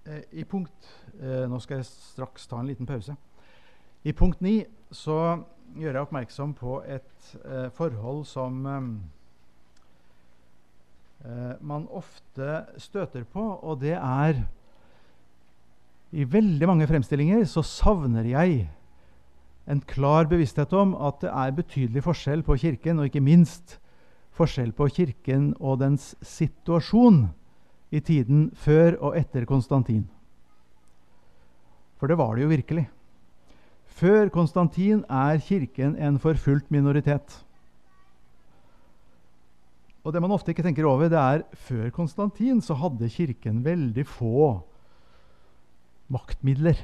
I punkt, nå skal jeg straks ta en liten pause. I punkt 9 så gjør jeg oppmerksom på et forhold som man ofte støter på, og det i veldig mange fremstillinger så savner jeg en klar bevissthet om at det betydelig forskjell på kirken, og ikke minst forskjell på kirken og dens situasjon i tiden før og etter Konstantin. For det var det jo virkelig. Før Konstantin kirken en forfulgt minoritet. Og det man ofte ikke tenker over, det før Konstantin så hadde kirken veldig få maktmidler.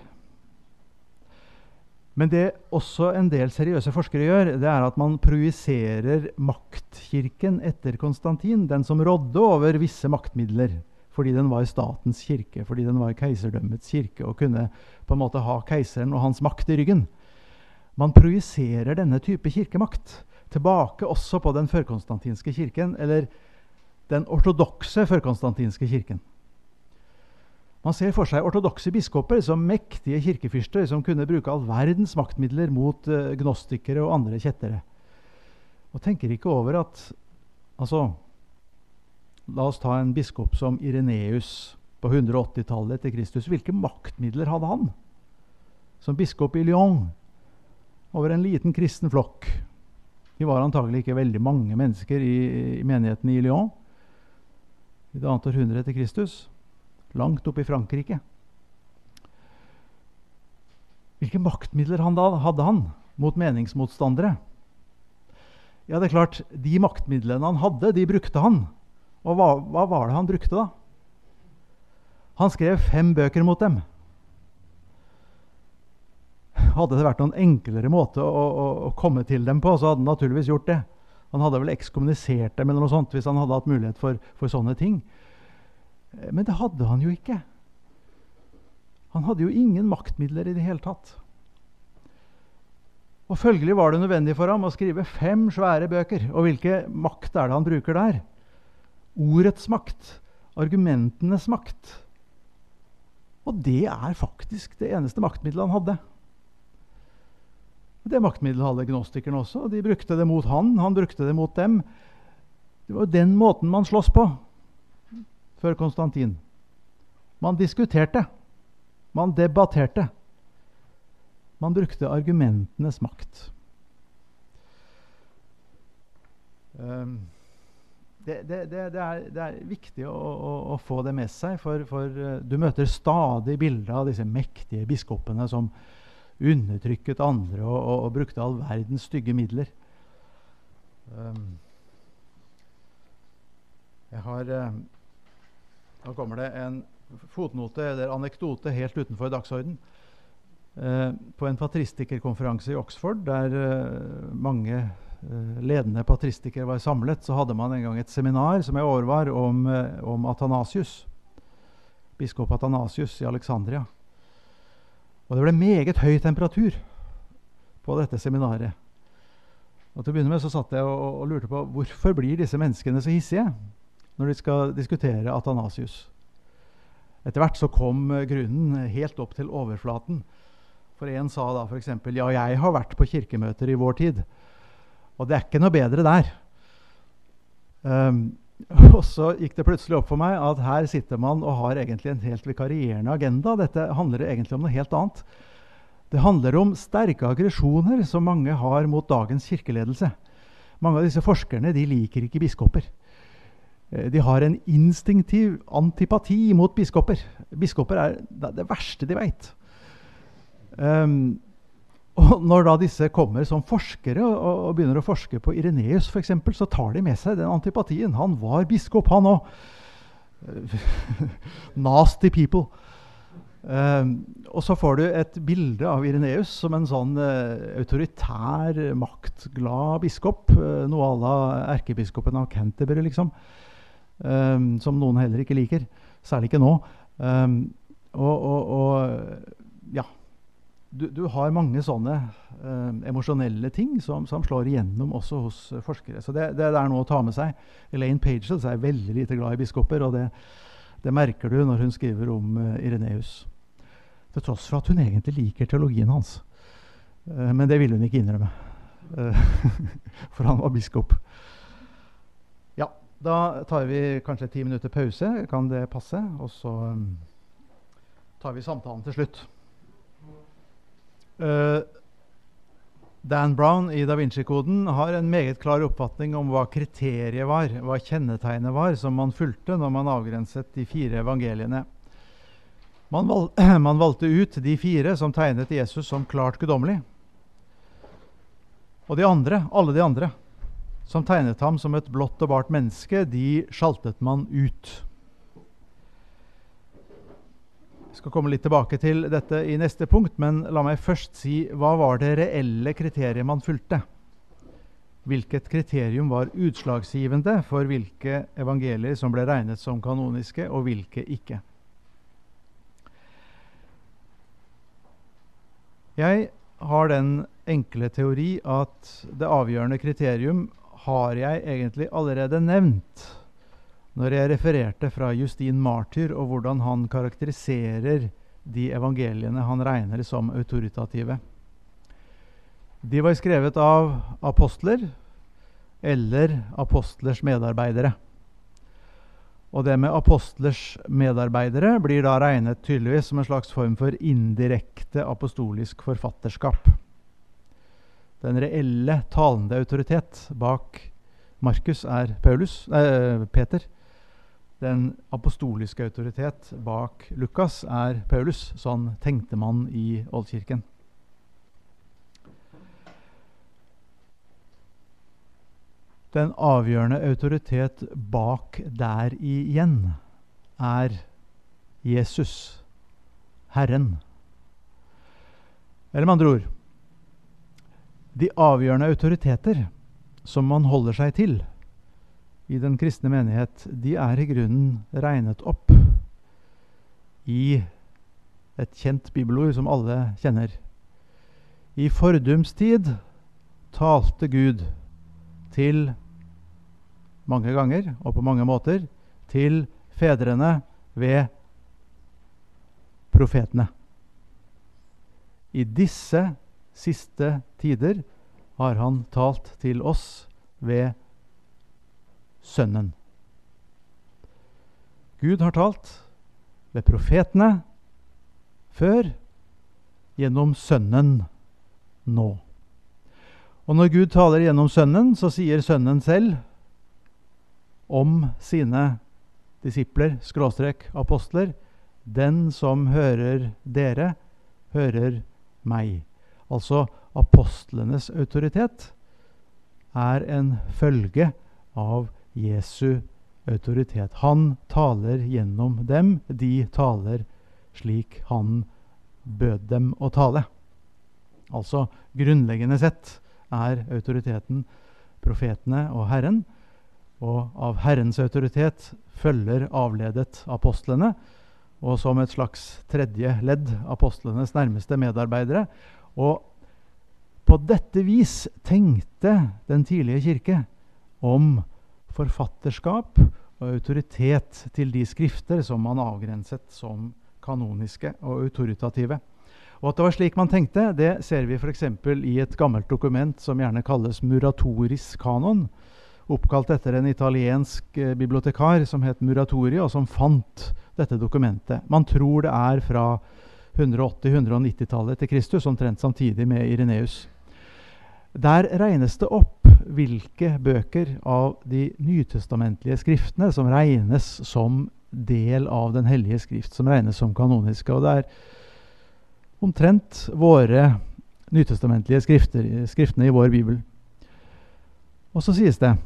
Men det også en del seriøse forskere gjør, det at man projiserer maktkirken etter Konstantin, den som rådde over visse maktmidler, fordi den var statens kirke, fordi den var keiserdømmets kirke, og kunne på en måte ha keiseren og hans makt i ryggen. Man projiserer denne type kirkemakt tilbake også på den førkonstantinske kirken, eller den ortodokse førkonstantinske kirken. Man ser for seg ortodokse biskoper som mektige kirkefyrster som kunne bruke all verdens maktmidler mot gnostikere og andre kjettere. Og tenker ikke over at, la oss ta en biskop som Ireneus på 180-tallet etter Kristus. Hvilke maktmidler hadde han? Som biskop i Lyon, over en liten kristen flokk. De var antagelig ikke veldig mange mennesker i menigheten i Lyon. I det annet århundre etter Kristus. Langt opp i Frankrike. Hvilke maktmidler hadde han mot meningsmotstandere? Ja, det klart, de maktmidlene han hadde, de brukte han. Og hva var det han brukte da? Han skrev 5 bøker mot dem. Hadde det vært noen enklere måte å komme til dem på, så hadde han naturligvis gjort det. Han hadde vel ekskommunisert dem eller noe sånt, hvis han hadde hatt mulighet for sånne ting. Men det hadde han jo ikke. Han hadde jo ingen maktmidler i det hele tatt. Og følgelig var det nødvendig for ham å skrive 5 svære bøker. Og hvilke makt det han bruker der? Ordets makt, argumentenes makt. Og det faktisk det eneste maktmiddelet han hadde. Det maktmiddelet hadde gnostikerne også, og de brukte det mot han brukte det mot dem. Det var jo den måten man slåss på før Konstantin. Man diskuterte, man debatterte. Man brukte argumentenes makt. Det viktig å få det med seg, for du møter stadig bilder av disse mektige biskopene som undertrykket andre og brukte all verdens stygge midler. Nå kommer det en fotnote eller anekdote helt utenfor dagsorden. På en patristikerkonferanse i Oxford, der mange ledende patristikere var samlet, så hadde man en gang et seminar som jeg overvar om Athanasius, biskop Athanasius i Alexandria. Og det ble meget høy temperatur på dette seminaret. Og til å begynne med så satt jeg og lurte på hvorfor blir disse menneskene så hissige når de skal diskutere Athanasius. Etter hvert så kom grunnen helt opp til overflaten. For en sa da for eksempel, ja, jeg har vært på kirkemøter i vår tid, og det ikke noe bedre der. Og så gikk det plutselig opp for meg at her sitter man og har egentlig en helt vikarierende agenda. Dette handler egentlig om noe helt annet. Det handler om sterke aggresjoner som mange har mot dagens kirkeledelse. Mange av disse forskerne, de liker ikke biskoper. De har en instinktiv antipati mot biskoper. Biskoper det verste de vet. Og når da disse kommer som forskere og begynner å forske på Ireneus for eksempel, så tar de med seg den antipatien. Han var biskop, han også. Nasty people. Og så får du et bilde av Ireneus som en sånn autoritær, maktglad biskop, noe à la erkebiskopen av Canterbury, liksom, som noen heller ikke liker, særlig ikke nå. Ja, du har mange sånne emosjonelle ting som slår igjennom også hos forskere. Så det noe å ta med seg. Elaine Pagels veldig lite glad i biskoper, og det Det merker du når hun skriver om Irenaeus. Til tross for at hun egentlig liker teologien hans. Men det ville hun ikke innrømme. For han var biskop. Ja, da tar vi kanskje 10 minutter pause. Kan det passe? Og så tar vi samtalen til slutt. Dan Brown i Da Vinci-koden har en meget klar oppfatning om hva kriteriet var, hva kjennetegnet var som man fulgte når man avgrenset de 4 evangeliene. Man valgte ut de 4 som tegnet Jesus som klart guddommelig. Og alle de andre, som tegnet ham som et blått og bart menneske, de sjaltet man ut. Jeg skal komme litt tilbake til dette i neste punkt, men la meg først si hva var det reelle kriteriet man fulgte. Hvilket kriterium var utslagsgivende for hvilke evangelier som ble regnet som kanoniske, og hvilke ikke. Jeg har den enkle teori at det avgjørende kriterium har jeg egentlig allerede nevnt når jeg refererte fra Justin Martyr og hvordan han karakteriserer de evangeliene han regner som autoritative. De var skrevet av apostler eller apostlers medarbeidere. Og det med apostlers medarbeidere blir da regnet tydeligvis som en slags form for indirekte apostolisk forfatterskap. Den reelle talende autoritet bak Markus er Peter. Den apostoliske autoritet bak Lukas er Paulus. Sånn tenkte man i Oldkirken. Den avgjørende autoritet bak der igjen er Jesus, Herren. Eller med andre ord, de avgjørende autoriteter som man holder seg til i den kristne menighet, de er i grunnen regnet opp i et kjent bibelord som alle kjenner. I fordums tid talte Gud til mange ganger og på mange måter til fedrene ved profetene. I disse siste tider har han talt til oss ved Sønnen. Gud har talt ved profetene før, gjennom Sønnen nå. Og når Gud taler gjennom Sønnen, så sier Sønnen selv om sine disipler, _apostler, den som hører dere, hører meg. Altså apostlenes autoritet er en følge av Jesu autoritet. Han taler gjennom dem, de taler slik han bød dem å tale. Altså grunnleggende sett er autoriteten profetene og Herren, og av Herrens autoritet følger avledet apostlene, og som et slags tredje ledd apostlenes nærmeste medarbeidere. Og på dette vis tenkte den tidlige kirke om forfatterskap og autoritet til de skrifter som man avgrenset som kanoniske og autoritative. Og at det var slik man tenkte, det ser vi for eksempel i et gammelt dokument som gjerne kalles Muratoris kanon, oppkalt etter en italiensk bibliotekar som het Muratori, og som fant dette dokumentet. Man tror det er fra 180-190-tallet til Kristus, omtrent samtidig med Irenaeus. Der regnes det opp hvilke bøker av de nytestamentlige skriftene som regnes som del av den hellige skrift, som regnes som kanoniske. Og det er omtrent våre nytestamentlige skriftene i vår bibel. Og så sies det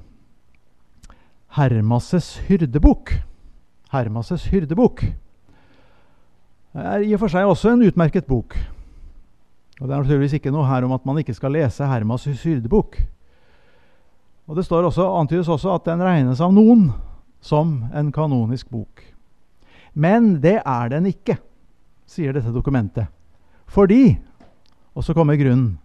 Hermas' hyrdebok. Hermas' hyrdebok er i og for seg også en utmerket bok. Og det er naturligvis ikke noe her om at man ikke skal lese Hermas' hyrdebok. Og det står også, antydes også at den regnes av noen som en kanonisk bok. Men det er den ikke, sier dette dokumentet. Fordi, og så kommer grunnen,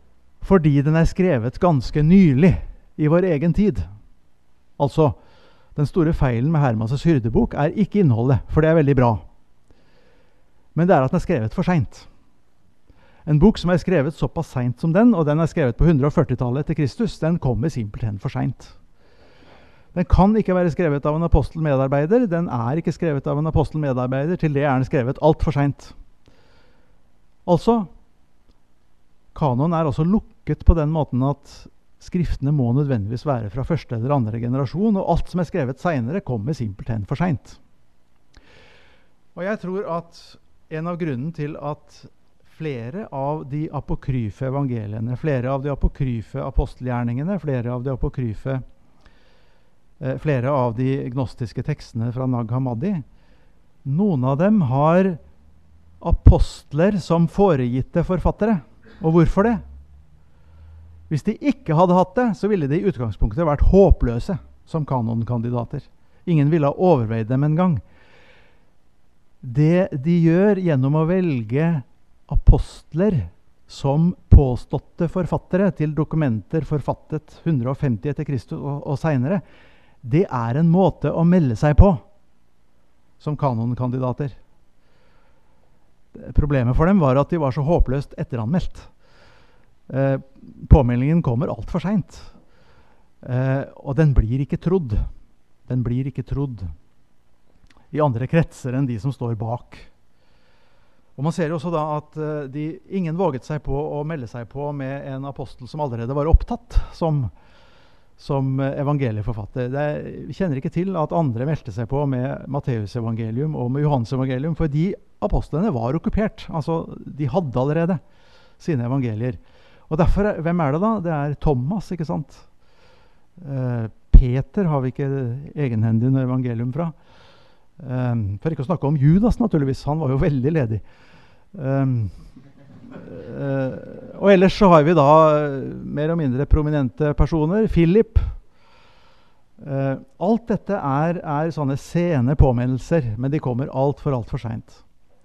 fordi den er skrevet ganske nylig i vår egen tid. Altså Den store feilen med Hermas' hyrdebok er ikke innholdet, for det er veldig bra. Men det er at den er skrevet for sent. En bok som er skrevet såpass sent som den, og den er skrevet på 140-tallet etter Kristus, den kommer simpelthen for sent. Den kan ikke være skrevet av en apostelmedarbeider. Den er ikke skrevet av en apostelmedarbeider. Til det er den skrevet alt for sent. Altså, kanon er altså lukket på den måten at skriftene må nødvendigvis være fra første eller andre generasjon, og alt som er skrevet senere kommer simpelthen for sent. Og jeg tror at en av grunnen til at flere av de apokryfe evangeliene, flere av de apokryfe apostelgjerningene, flere av de gnostiske tekstene fra Nag Hammadi, noen av dem har apostler som foregitte forfattere. Og hvorfor det? Hvis de ikke hadde hatt det, så ville de i utgangspunktet vært håpløse som kanonkandidater. Ingen ville ha overveid dem en gang. Det de gjør gjennom å velge apostler som påståtte forfattere til dokumenter forfattet 150 etter Kristus og senere, det er en måte å melde seg på som kanonkandidater. Problemet for dem var at de var så håpløst etteranmeldt. Påmeldingen kommer alt for sent. Og den blir ikke trodd. Den blir ikke trodd i andre kretser enn de som står bak. Og man ser jo også da at ingen våget seg på å melde seg på med en apostel som allerede var opptatt som evangelieforfatter. Vi kjenner ikke til at andre meldte seg på med Matteus evangelium og med Johannes evangelium, for de apostlene var okkupert. Altså, de hadde allerede sine evangelier. Og derfor, hvem er det da? Det er Thomas, ikke sant? Peter har vi ikke egenhendig noe evangelium fra. For ikke å snakke om Judas, naturligvis. Han var jo veldig ledig. Og ellers så har vi da mer og mindre prominente personer. Philip. Alt dette er sånne sene påminnelser, men de kommer alt for sent.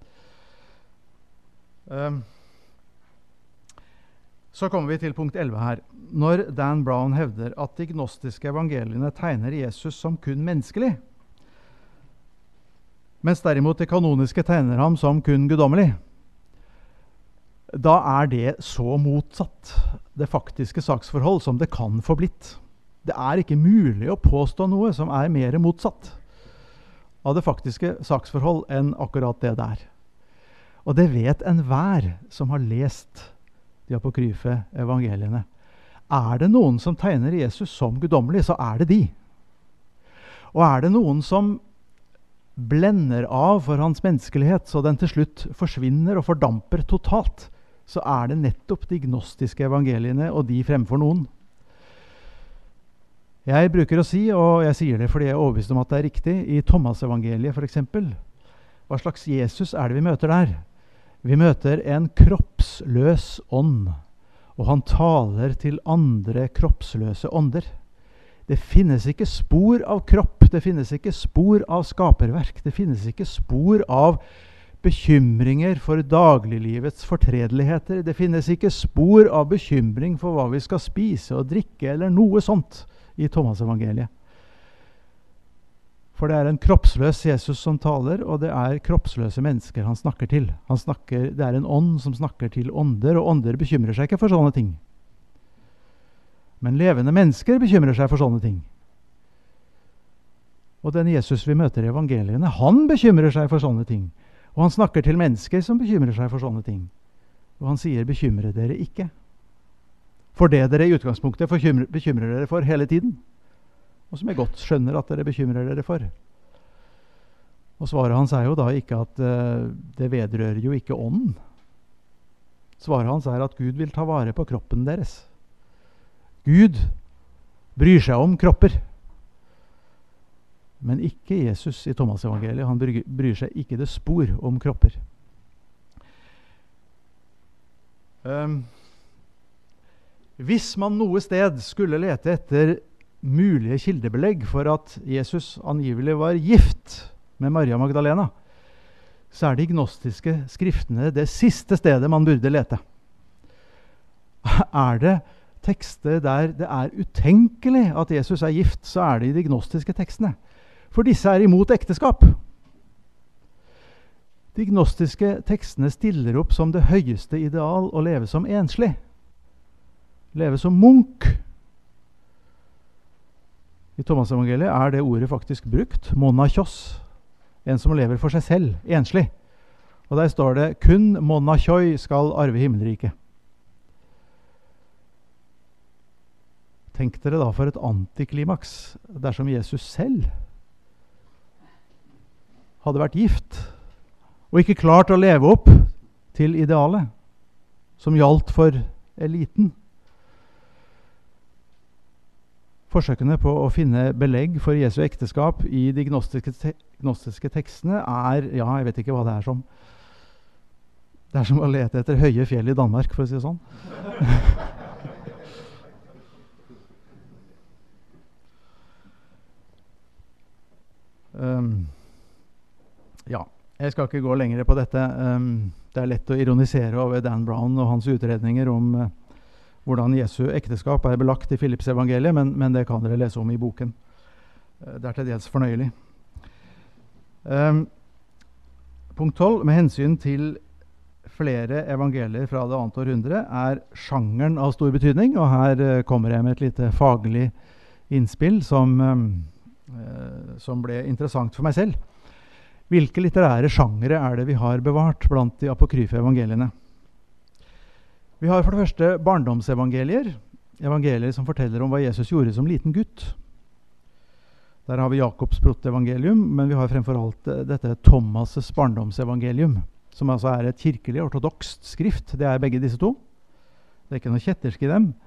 Så kommer vi til punkt 11 her. Når Dan Brown hevder at de gnostiske evangeliene tegner Jesus som kun menneskelig, mens derimot de kanoniske tegner ham som kun guddommelig, da er det så motsatt det faktiske saksforhold som det kan få blitt. Det er ikke mulig å påstå noe som er mer motsatt av det faktiske saksforhold enn akkurat det der. Og det vet enhver som har lest de apokryfe evangeliene. Er det noen som tegner Jesus som guddommelig, så er det de. Og er det noen som blender av for hans menneskelighet, så den til slutt forsvinner og fordamper totalt, så er det nettopp de gnostiske evangeliene, og de fremfor noen. Jeg bruker å si, og jeg sier det fordi jeg er overbevist om at det er riktig, i Thomas-evangeliet for eksempel, hva slags Jesus er det vi møter der? Vi møter en kroppsløs ånd, og han taler til andre kroppsløse ånder. Det finnes ikke spor av kropp, det finnes ikke spor av skaperverk, det finnes ikke spor av bekymringer for dagliglivets fortredeligheter, det finnes ikke spor av bekymring for hva vi skal spise og drikke, eller noe sånt i Thomas-evangeliet. For det er en kroppsløs Jesus som taler, og det er kroppsløse mennesker han snakker til. Det er en ånd som snakker til ånder, og ånder bekymrer seg ikke for sånne ting. Men levende mennesker bekymrer seg for sånne ting. Og den Jesus vi møter i evangeliene, han bekymrer seg for sånne ting. Og han snakker til mennesker som bekymrer seg for sånne ting. Og han sier, bekymre dere ikke. For det dere i utgangspunktet bekymrer dere for hele tiden. Og som jeg godt skjønner at dere bekymrer dere for. Og svaret hans er jo da ikke at det vedrører jo ikke ånden. Svaret hans er at Gud vil ta vare på kroppen deres. Gud bryr seg om kropper. Men ikke Jesus i Thomas evangeliet. Han bryr seg ikke det spor om kropper. Hvis man noe sted skulle lete etter mulige kildebelegg for at Jesus angivelig var gift med Maria Magdalena, så er de gnostiske skriftene det siste stedet man burde lete. Er det tekster der det utenkelig at Jesus gift, så det i de gnostiske tekstene. For disse imot ekteskap. De gnostiske tekstene stiller opp som det høyeste ideal å leve som enslig. Leve som munk. I Thomas-evangeliet det ordet faktisk brukt, monachos, en som lever for seg selv, enslig. Og der står det, kun monachoi skal arve himmelriket. Tenk dere da for et antiklimaks dersom Jesus selv hadde vært gift, og ikke klart å leve opp til idealet som gjaldt for eliten. Forsøkene på å finne belegg for Jesu ekteskap i de gnostiske tekstene ja, jeg vet ikke hva det som. Det som å lete etter høye fjell i Danmark, for å si det sånn. Ja, jeg skal ikke gå lenger på dette. Det lett å ironisere over Dan Brown og hans utredninger om hvordan Jesu ekteskap belagt i Philips evangeliet, men det kan dere lese om i boken. Det til dels fornøyelig. Punkt 12. Med hensyn til flere evangelier fra det annet århundre sjangeren av stor betydning, og her kommer jeg med et lite faglig innspill som ble interessant for meg selv. Hvilke litterære sjangere det vi har bevart blant de apokryfe evangeliene? Vi har for det første barndomsevangelier, evangelier som forteller om hva Jesus gjorde som liten gutt. Der har vi Jakobs protevangelium, men vi har fremfor alt dette Thomas' barndomsevangelium, som altså et kirkelig ortodokst skrift. Det begge disse to. Det ikke noe kjettersk i dem.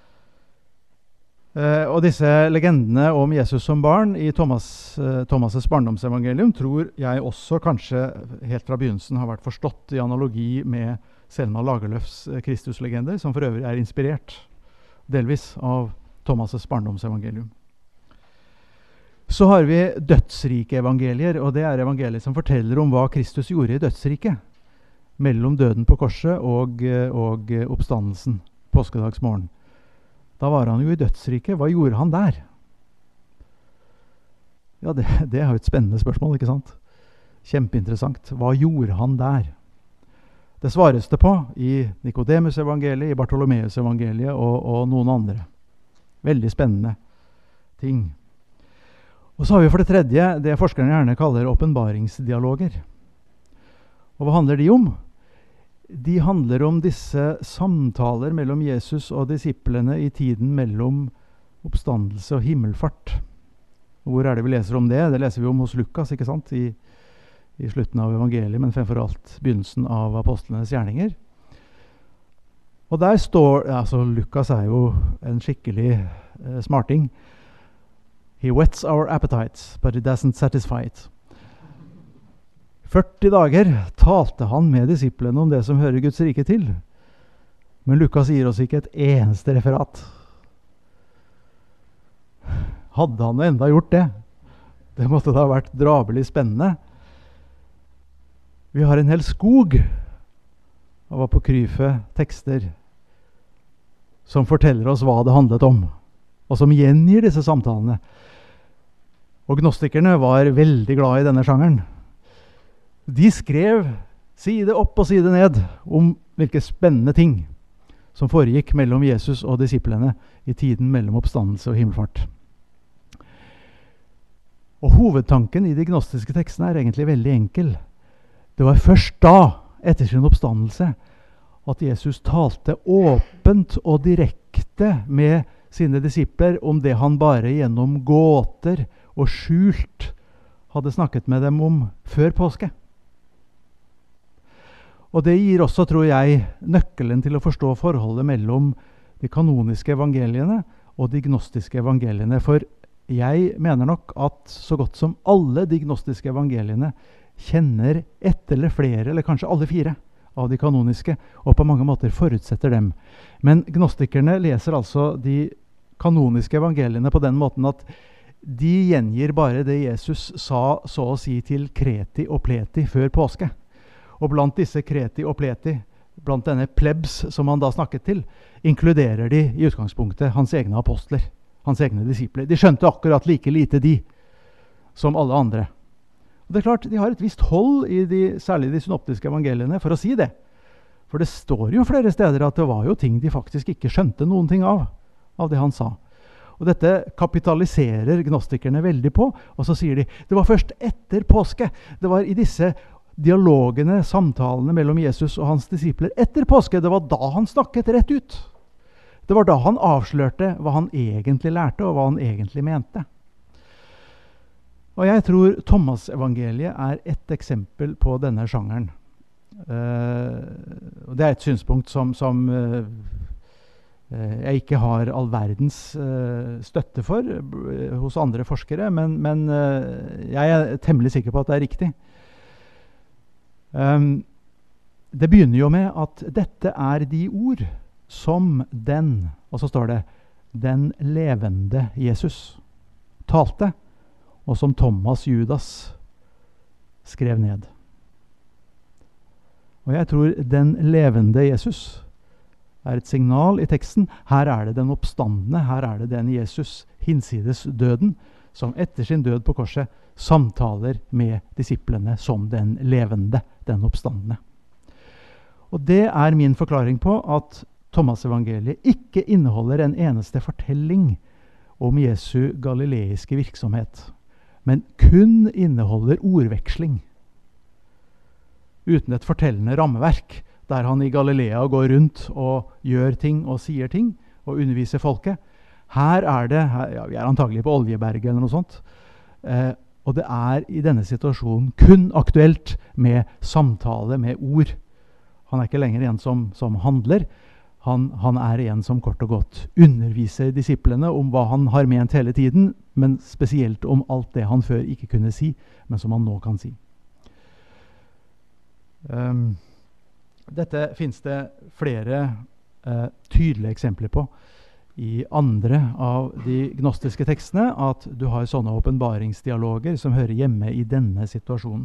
Og disse legendene om Jesus som barn i Thomas' barndomsevangelium tror jeg også kanskje helt fra begynnelsen har vært forstått i analogi med Selma Lagerlöfs Kristuslegender, som for øvrig inspirert delvis av Thomas' barndomsevangelium. Så har vi dødsrike evangelier, og det evangelier som forteller om hva Kristus gjorde i dødsriket mellom døden på korset og oppstandelsen påskedagsmorgen. Da var han jo i dødsriket. Hva gjorde han der? Ja, det jo et spennende spørsmål, ikke sant? Kjempeinteressant. Hva gjorde han der? Det svares det på i Nikodemus evangeliet, i Bartolomeus evangeliet og noen andre. Veldig spennende ting. Og så har vi for det tredje det forskerne gjerne kaller åpenbaringsdialoger. Og hva handler de om? De handler om disse samtaler mellom Jesus og disiplene i tiden mellom oppstandelse og himmelfart. Hvor det vi leser om det? Det leser vi om hos Lukas, ikke sant? I slutten av evangeliet, men fremfor alt begynnelsen av apostlenes gjerninger. Og der står, altså Lukas jo en skikkelig smarting. He whets our appetites, but it doesn't satisfy it. 40 dager talte han med disiplene om det som hører Guds rike til. Men Lukas gir oss ikke et eneste referat. Hadde han enda gjort det? Det måtte da ha vært drabelig spennende. Vi har en hel skog av apokryfe tekster som forteller oss hva det handlet om, og som gjengir disse samtalene. Og gnostikerne var veldig glad i denne sjangeren. De skrev side opp og side ned om hvilke spennende ting som foregikk mellom Jesus og disiplene i tiden mellom oppstandelse og himmelfart. Og hovedtanken i de gnostiske tekstene egentlig veldig enkel. Det var først da, etter sin oppstandelse, at Jesus talte åpent og direkte med sine disipler om det han bare gjennom gåter og skjult hadde snakket med dem om før påske. Og det gir også, tror jeg, nøkkelen til å forstå forholdet mellom de kanoniske evangeliene og de gnostiske evangeliene. For jeg mener nok at så godt som alle de gnostiske evangeliene kjenner ett eller flere, eller kanskje alle 4 av de kanoniske, og på mange måter forutsetter dem. Men gnostikerne leser altså de kanoniske evangeliene på den måten at de gjengir bare det Jesus sa, så å si, til kreti og pleti før påske. Og blant disse kreti og pleti, blant denne plebs som han da snakket til, inkluderer de i utgangspunktet hans egne apostler, hans egne disipler. De skjønte akkurat like lite de som alle andre. Og det er klart, de har et visst hold i særlig de synoptiske evangeliene for å si det. For det står jo flere steder at det var jo ting de faktisk ikke skjønte noen ting av det han sa. Og dette kapitaliserer gnostikerne veldig på, og så sier de, det var først etter påske. Det var i disse dialogene, samtalene mellom Jesus og hans disipler etter påske, det var da han snakket rett ut. Det var da han avslørte hva han egentlig lærte, og hva han egentlig mente. Og jeg tror Thomas-evangeliet er et eksempel på denne sjangeren. Og det er et synspunkt som jeg ikke har all verdens støtte for hos andre forskere, men jeg er temmelig sikker på at det er riktig. Det begynner jo med at dette er de ord som den, og så står det, den levende Jesus talte, og som Thomas Judas skrev ned. Og jeg tror den levende Jesus er et signal i teksten. Her er det den oppstandende, her er det den Jesus hinsides døden, som etter sin død på korset samtaler med disiplene som den levende, den oppstandende. Og det er min forklaring på at Thomas-evangeliet ikke inneholder en eneste fortelling om Jesu galileiske virksomhet, men kun inneholder ordveksling, uten et fortellende rammeverk, der han i Galilea går rundt og gjør ting og sier ting og underviser folket. Her er det, vi er antagelig på Oljeberget eller noe sånt, og det er i denne situasjonen kun aktuelt med samtale, med ord. Han er ikke lenger en som handler, han er en som kort og godt underviser disiplene om hva han har ment hele tiden, men spesielt om alt det han før ikke kunne si, men som han nå kan si. Dette finnes det flere tydelige eksempler på i andre av de gnostiske tekstene, at du har sånne åpenbaringsdialoger som hører hjemme i denne situasjonen.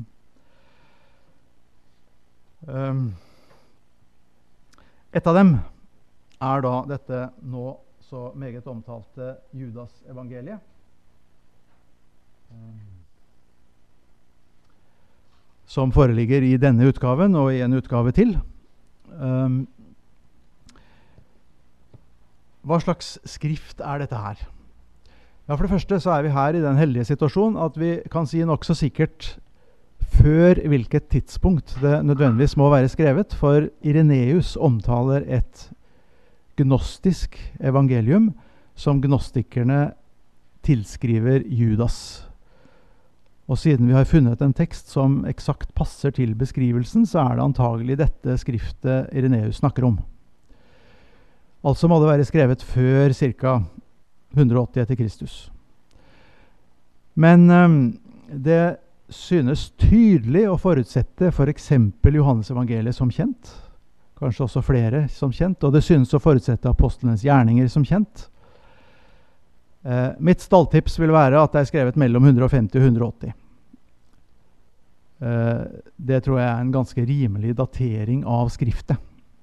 Et av dem er da dette nå så meget omtalte Judas-evangeliet. Som foreligger i denne utgaven og i en utgave til. Hva slags skrift er dette her? Ja, for det første så er vi her i den heldige situasjonen at vi kan si nok så sikkert før hvilket tidspunkt det nødvendigvis må være skrevet, for Ireneus omtaler et gnostisk evangelium som gnostikerne tilskriver Judas. Og siden vi har funnet en tekst som eksakt passer til beskrivelsen, så er det antagelig dette skriftet Ireneus snakker om. Altså må det være skrevet før ca. 180 etter Kristus. Men det synes tydelig å forutsette for eksempel Johannes evangeliet som kjent, kanskje også flere som kjent, og det synes å forutsette apostlenes gjerninger som kjent. Mitt stalltips vil være at det er skrevet mellom 150 og 180. Det tror jeg er en ganske rimelig datering av skriftet.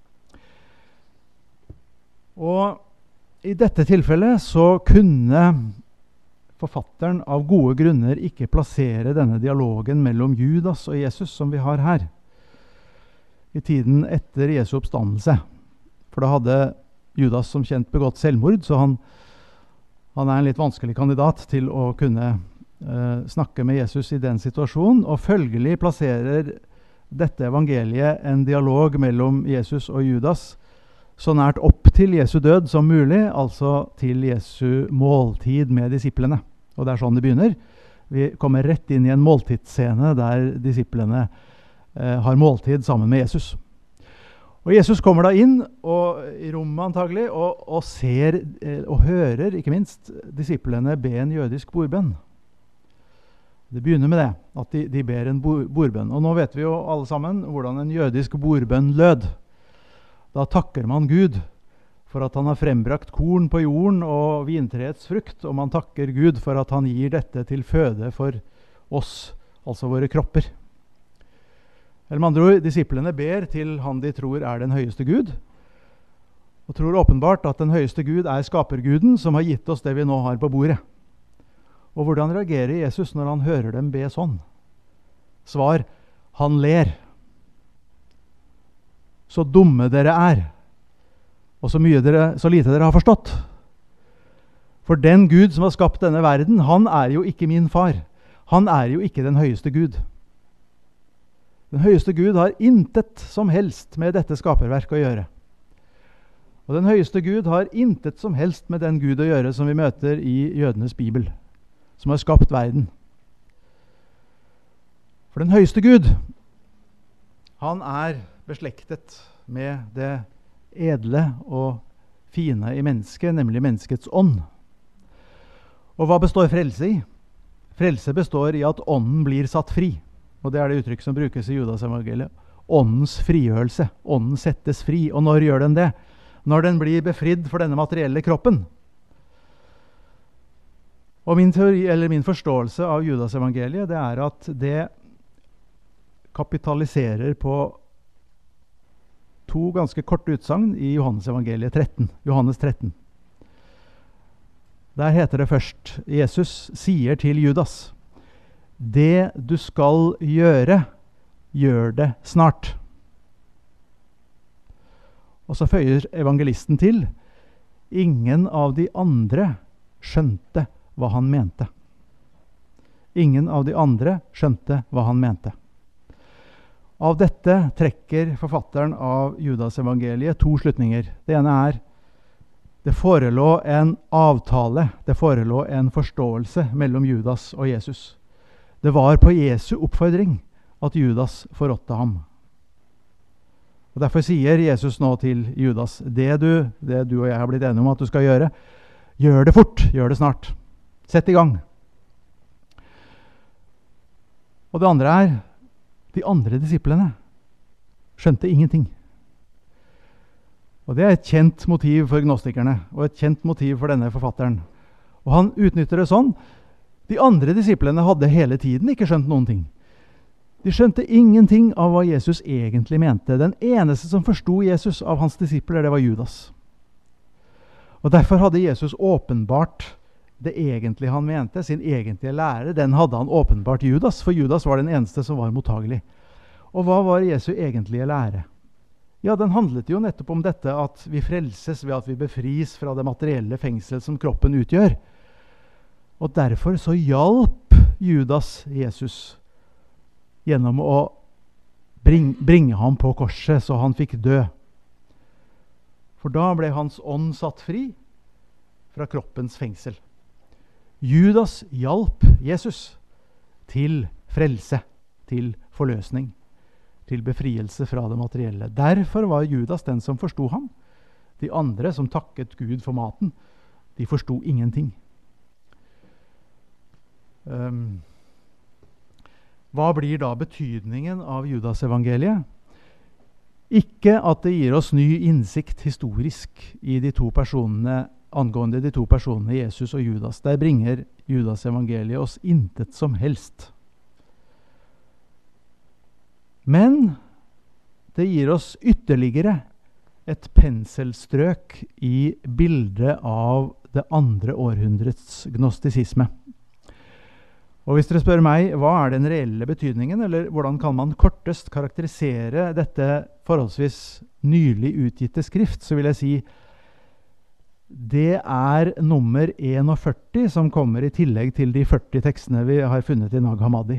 Og i dette tilfellet så kunne forfatteren av gode grunner ikke plassere denne dialogen mellom Judas og Jesus som vi har her, i tiden etter Jesu oppstandelse. For da hadde Judas som kjent begått selvmord, så han er en litt vanskelig kandidat til å kunne snakke med Jesus i den situasjonen, og følgelig plasserer dette evangeliet en dialog mellom Jesus og Judas så nært opp til Jesu død som mulig, altså til Jesu måltid med disiplene. Og det er sånn det begynner. Vi kommer rett inn i en måltidsscene der disiplene har måltid sammen med Jesus. Og Jesus kommer da inn i rommet antagelig, og ser og hører, ikke minst, disiplene be en jødisk bordbønn. Det begynner med det, at de ber en bordbønn. Og nå vet vi jo alle sammen hvordan en jødisk bordbønn lød. Da takker man Gud for at han har frembrakt korn på jorden og vintreets frukt, og man takker Gud for at han gir dette til føde for oss, altså våre kropper. Eller med andre ord, disiplene ber til han de tror den høyeste Gud, og tror åpenbart at den høyeste Gud skaperguden som har gitt oss det vi nå har på bordet. Og hvordan reagerer Jesus når han hører dem be sånn? Svar: han ler. Så dumme dere og så lite dere har forstått. For den Gud som har skapt denne verden, han jo ikke min far. Han jo ikke den høyeste Gud. Den høyeste Gud har intet som helst med dette skaperverk å gjøre. Og den høyeste Gud har intet som helst med den Gud å gjøre som vi møter i jødenes Bibel, som har skapt verden. For den høyeste Gud, han beslektet med det edle og fine i mennesket, nemlig menneskets ånd. Og hva består frelse i? Frelse består i at ånden blir satt fri. Og det det uttrykk som brukes i Judas evangeliet. Åndens frigjørelse. Ånden settes fri. Og når gjør den det? Når den blir befridd for denne materielle kroppen. Og min forståelse av Judas evangeliet, det at det kapitaliserer på to ganske korte utsagn i Johannes evangeliet 13. Johannes 13. Der heter det først, Jesus sier til Judas: det du skal gjøre, gjør det snart. Og så føyer evangelisten til: ingen av de andre skjønte hva han mente. Ingen av de andre skjønte hva han mente. Av dette trekker forfatteren av Judas evangeliet to slutninger. Det ene det forelå en avtale, det forelå en forståelse mellom Judas og Jesus. Det var på Jesu oppfordring at Judas forrådte ham. Og derfor sier Jesus nå til Judas: det du og jeg har blitt enige om at du skal gjøre, gjør det fort, gjør det snart. Sett i gang. Og det andre de andre disiplene skjønte ingenting. Og det et kjent motiv for gnostikerne, og et kjent motiv for denne forfatteren. Og han utnytter det sånn: de andre disiplene hadde hele tiden ikke skjønt noen ting. De skjønte ingenting av hva Jesus egentlig mente. Den eneste som forsto Jesus av hans disipler, det var Judas. Og derfor hadde Jesus åpenbart det egentlig han mente, sin egentlige lære, den hadde han åpenbart Judas, for Judas var den eneste som var mottagelig. Og hva var Jesu egentlige lære? Ja, den handlet jo nettopp om dette at vi frelses ved at vi befris fra det materielle fengsel som kroppen utgjør. Og derfor så hjalp Judas Jesus gjennom å bringe ham på korset så han fikk dø. For da ble hans ånd satt fri fra kroppens fengsel. Judas hjalp Jesus til frelse, til forløsning, til befrielse fra det materielle. Derfor var Judas den som forsto ham. De andre som takket Gud for maten, de forsto ingenting. Hva blir da betydningen av Judas evangeliet? Ikke at det gir oss ny innsikt historisk i angående de to personene Jesus og Judas. Der bringer Judas evangeliet oss intet som helst. Men det gir oss ytterligere et penselstrøk i bildet av det andre århundrets gnostisisme. Og hvis dere spør meg, hva den reelle betydningen, eller hvordan kan man kortest karakterisere dette forholdsvis nylig utgitte skrift, så vil jeg si det nummer 41 som kommer i tillegg til de 40 tekstene vi har funnet i Nag Hammadi.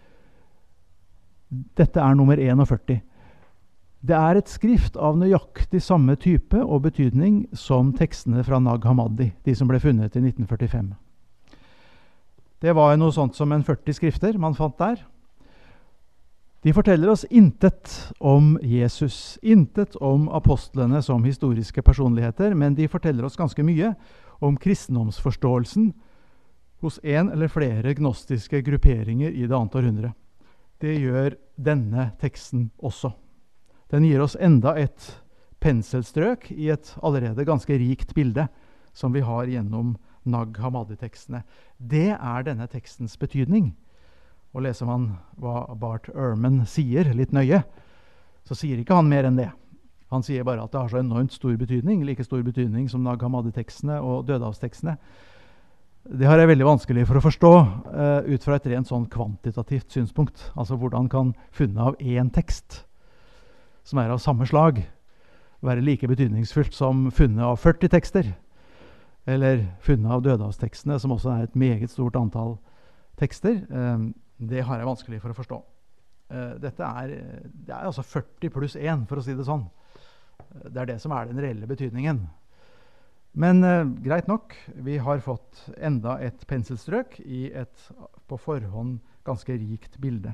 Dette nummer 41. Det et skrift av nøyaktig samme type og betydning som tekstene fra Nag Hammadi, de som ble funnet i 1945. Det var noe sånt som 40 skrifter man fant der. De forteller oss intet om Jesus, intet om apostlene som historiske personligheter, men de forteller oss ganske mye om kristendomsforståelsen hos en eller flere gnostiske grupperinger i det annet århundre. Det gjør denne teksten også. Den gir oss enda et penselstrøk i et allerede ganske rikt bilde som vi har gjennom Nag Hammadi-tekstene. Det denne tekstens betydning. Og leser man hva Bart Ehrman sier litt nøye, så sier ikke han mer enn det. Han sier bare at det har så enormt stor betydning, like stor betydning som Nag Hammadi-tekstene og Dødehavstekstene. Det har jeg veldig vanskelig for å forstå ut fra et rent sånn kvantitativt synspunkt. Altså hvordan kan funnet av én tekst, som av samme slag, være like betydningsfullt som funnet av 40 tekster, eller funnet av Dødehavstekstene, som også et meget stort antall tekster. Det har jeg vanskelig for å forstå. Det er altså 40 pluss 1, for å si det sånn. Det det som den reelle betydningen. Men greit nok, vi har fått enda et penselstrøk i et på forhånd ganske rikt bilde.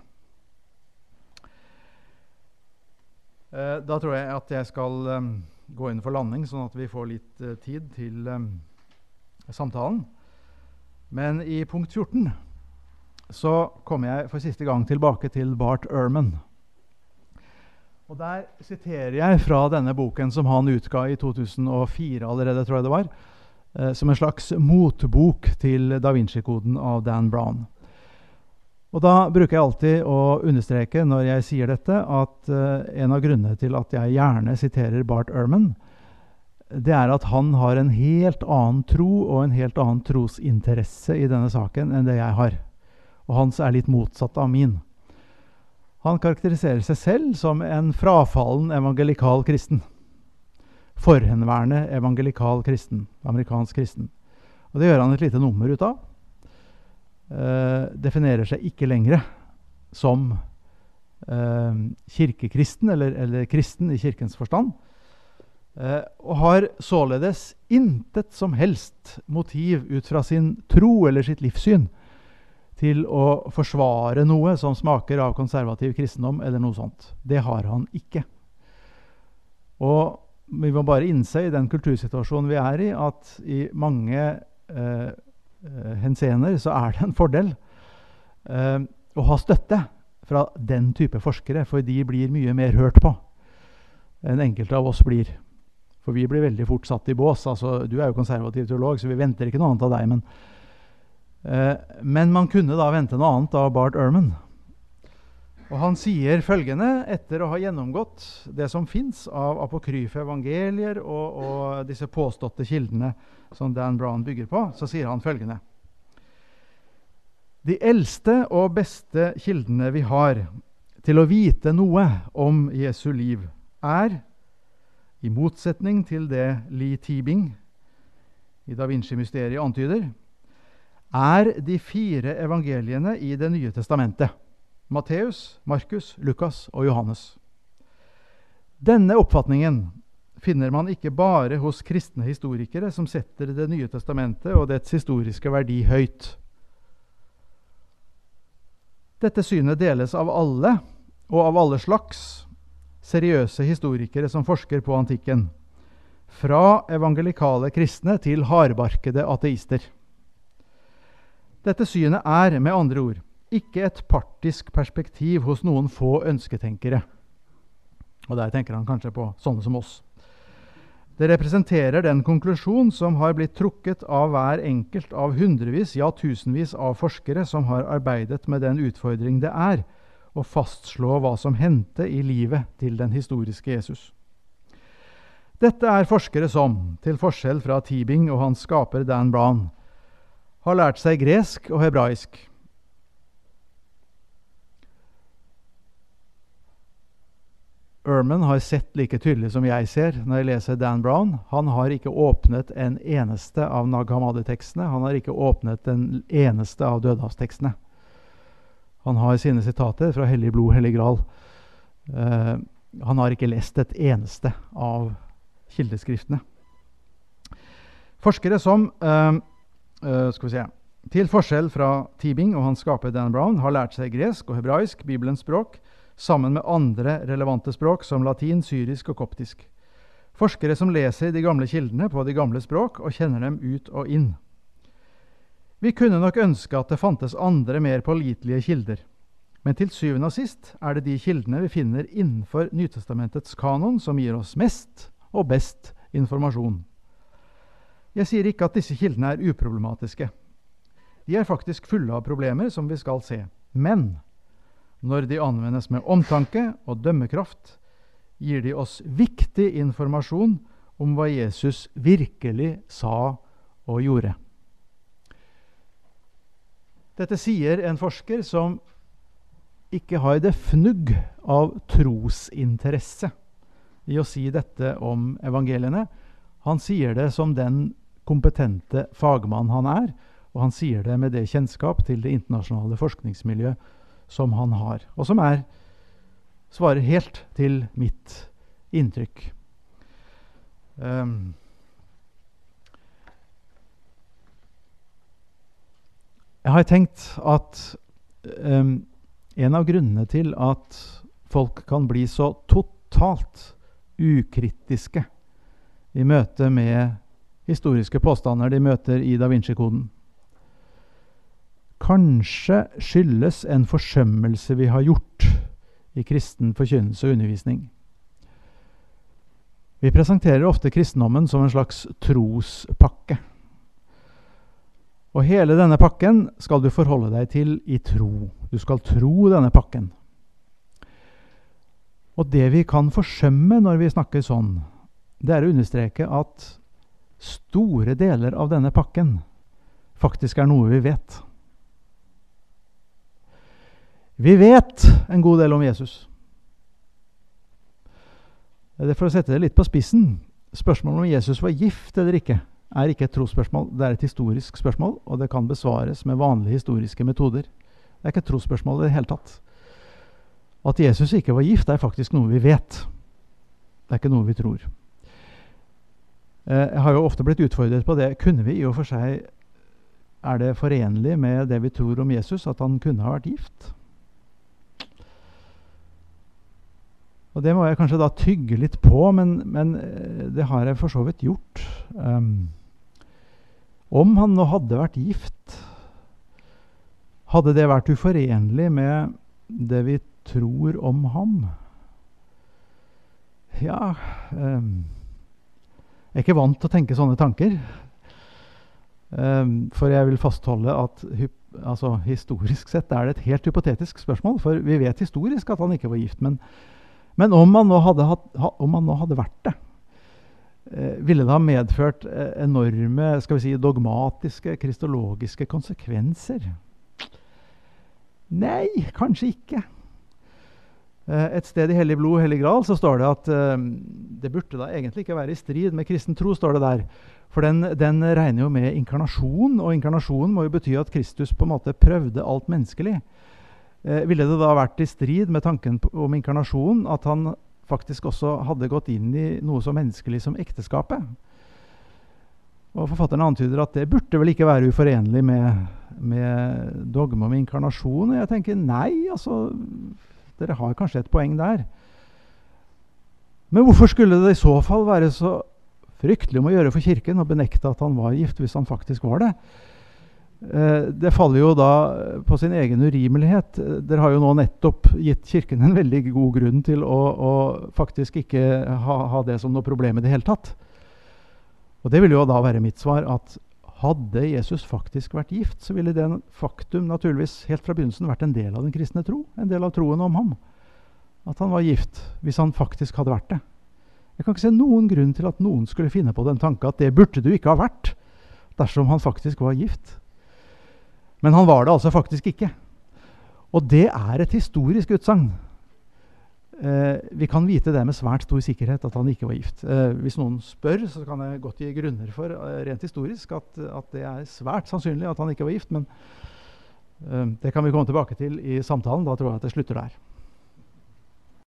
Da tror jeg at jeg skal gå inn for landing, sånn at vi får litt tid til samtalen. Men i punkt 14 så kommer jeg for siste gang tilbake til Bart Ehrman. Og der siterer jeg fra denne boken som han utga i 2004 allerede, tror jeg det var, som en slags motbok til Da Vinci-koden av Dan Brown. Og da bruker jeg alltid å understreke når jeg sier dette, at en av grunnene til at jeg gjerne siterer Bart Ehrman, det at han har en helt annen tro og en helt annen trosinteresse i denne saken enn det jeg har. Og hans litt motsatt av min. Han karakteriserer seg selv som en frafallen evangelikal kristen. Forhenværende evangelikal kristen, amerikansk kristen. Og det gjør han et lite nummer ut av. Definerer seg ikke lenger som kirkekristen, eller kristen i kirkens forstand. Og har således intet som helst motiv ut fra sin tro eller sitt livssyn til å forsvare noe som smaker av konservativ kristendom eller noe sånt. Det har han ikke. Og vi må bare innse i den kultursituasjonen vi i, at i mange henseender så det en fordel å ha støtte fra den type forskere, for de blir mye mer hørt på enn enkelte av oss blir. For vi blir veldig fort satt i bås. Altså, du jo konservativ teolog, så vi venter ikke noe annet av deg, men man kunne da vente noe annet av Bart Ehrman. Og han sier følgende, etter å ha gjennomgått det som finnes av apokryfe evangelier og disse påståtte kildene som Dan Brown bygger på, så sier han følgende. De eldste og beste kildene vi har til å vite noe om Jesu liv i motsetning til det Lee Teabing i Da Vinci-mysteriet antyder, de 4 evangeliene i Det nye testamentet. Matteus, Markus, Lukas og Johannes. Denne oppfatningen finner man ikke bare hos kristne historikere som setter Det nye testamentet og dets historiske verdi høyt. Dette synet deles av alle, og av alle slags, seriøse historikere som forsker på antikken. Fra evangelikale kristne til hardbarkede ateister. Dette synet med andre ord, ikke et partisk perspektiv hos noen få ønsketenkere. Og der tenker han kanskje på sånne som oss. Det representerer den konklusjon som har blitt trukket av hver enkelt av hundrevis, ja tusenvis av forskere som har arbeidet med den utfordring det å fastslå hva som hendte i livet til den historiske Jesus. Dette forskere som, til forskjell fra Teabing og hans skaper Dan Brown, har lært seg gresk og hebraisk. Ehrman har sett like tydelig som jeg ser når jeg leser Dan Brown. Han har ikke åpnet en eneste av Nag Hammadi-tekstene. Han har ikke åpnet den eneste av Dødehavstekstene. Han har sine sitater fra Hellig blod, Hellig gral. Han har ikke lest et eneste av kildeskriftene. Forskere som til forskjell fra Teabing og hans skaper Dan Brown har lært seg gresk og hebraisk, Bibelens språk, sammen med andre relevante språk som latin, syrisk og koptisk. Forskere som leser de gamle kildene på de gamle språk og kjenner dem ut og inn. Vi kunne nok ønske at det fantes andre mer pålitelige kilder, men til syvende og sist det de kildene vi finner innenfor Nytestamentets kanon som gir oss mest og best informasjon. Jeg sier ikke at disse kildene uproblematiske. De faktisk fulle av problemer som vi skal se. Men når de anvendes med omtanke og dømmekraft, gir de oss viktig informasjon om hva Jesus virkelig sa og gjorde. Dette sier en forsker som ikke har det fnugg av trosinteresse i å si dette om evangeliene. Han sier det som den kompetente fagmann han er, og han sier det med det kjennskap til det internasjonale forskningsmiljøet som han har, og som svarer helt til mitt inntrykk. Jeg har tenkt at en av grunnene til at folk kan bli så totalt ukritiske i møte med historiske påstander de møter i Da Vinci-koden, kanskje skyldes en forsømmelse vi har gjort i kristen forkynnelse og undervisning. Vi presenterer ofte kristendommen som en slags trospakke. Og hele denne pakken skal du forholde deg til i tro. Du skal tro denne pakken. Og det vi kan forsømme når vi snakker sånn, det er å understreke at store deler av denne pakken faktisk er noe vi vet. Vi vet en god del om Jesus. For å sette det litt på spissen, spørsmålet om Jesus var gift eller ikke, er ikke et trosspørsmål, det er et historisk spørsmål, og det kan besvares med vanlige historiske metoder. Det er ikke et trosspørsmål i det hele tatt. At Jesus ikke var gift er faktisk noe vi vet. Det er ikke noe vi tror. Jeg har jo ofte blitt utfordret på det. Kunne vi i og for seg, er det forenlig med det vi tror om Jesus, at han kunne ha vært gift? Og det må jeg kanskje da tygge litt på, men det har jeg for så vidt gjort. Om han nå hadde vært gift, hadde det vært uforenlig med det vi tror om ham? Ja, jeg er ikke vant til å tenke sånne tanker. For jeg vil fastholde at historisk sett er det et helt hypotetisk spørsmål, for vi vet historisk at han ikke var gift, men om han nå hadde vært det, ville det ha medført enorme, skal vi si, dogmatiske, kristologiske konsekvenser? Nei, kanskje ikke. Et sted i Hellig Blod, Hellig Gral, så står det at det burde da egentlig ikke være i strid med kristen tro, står det der. For den regner jo med inkarnasjon, og inkarnasjon må jo bety at Kristus på en måte prøvde alt menneskelig. Ville det da vært i strid med tanken om inkarnasjon at han faktisk også hadde gått inn i noe så menneskelig som ekteskapet? Og forfatteren antyder at det burde vel ikke være uforenlig med dogme om inkarnasjon. Og jeg tenker, nei, dere har kanskje et poeng der. Men hvorfor skulle det i så fall være så fryktelig om å gjøre for kirken å benekte at han var gift, hvis han faktisk var det? Det faller jo da på sin egen urimelighet. Dere har jo nå nettopp gitt kirken en veldig god grunn til å faktisk ikke ha det som noe problem i det hele tatt. Og det vil jo da være mitt svar, at hadde Jesus faktisk vært gift, så ville det faktum naturligvis helt fra begynnelsen vært en del av den kristne tro, en del av troen om ham. At han var gift, hvis han faktisk hadde vært det. Jeg kan ikke se noen grunn til at noen skulle finne på den tanken at det burde du ikke ha vært, dersom han faktisk var gift. Men han var det altså faktisk ikke. Og det er et historisk utsagn. Vi kan vite det med svært stor sikkerhet at han ikke var gift. Hvis noen spør, så kan jeg godt gi grunner for, rent historisk, at det er svært sannsynlig at han ikke var gift, men det kan vi komme tilbake til i samtalen. Da tror jeg at det slutter der.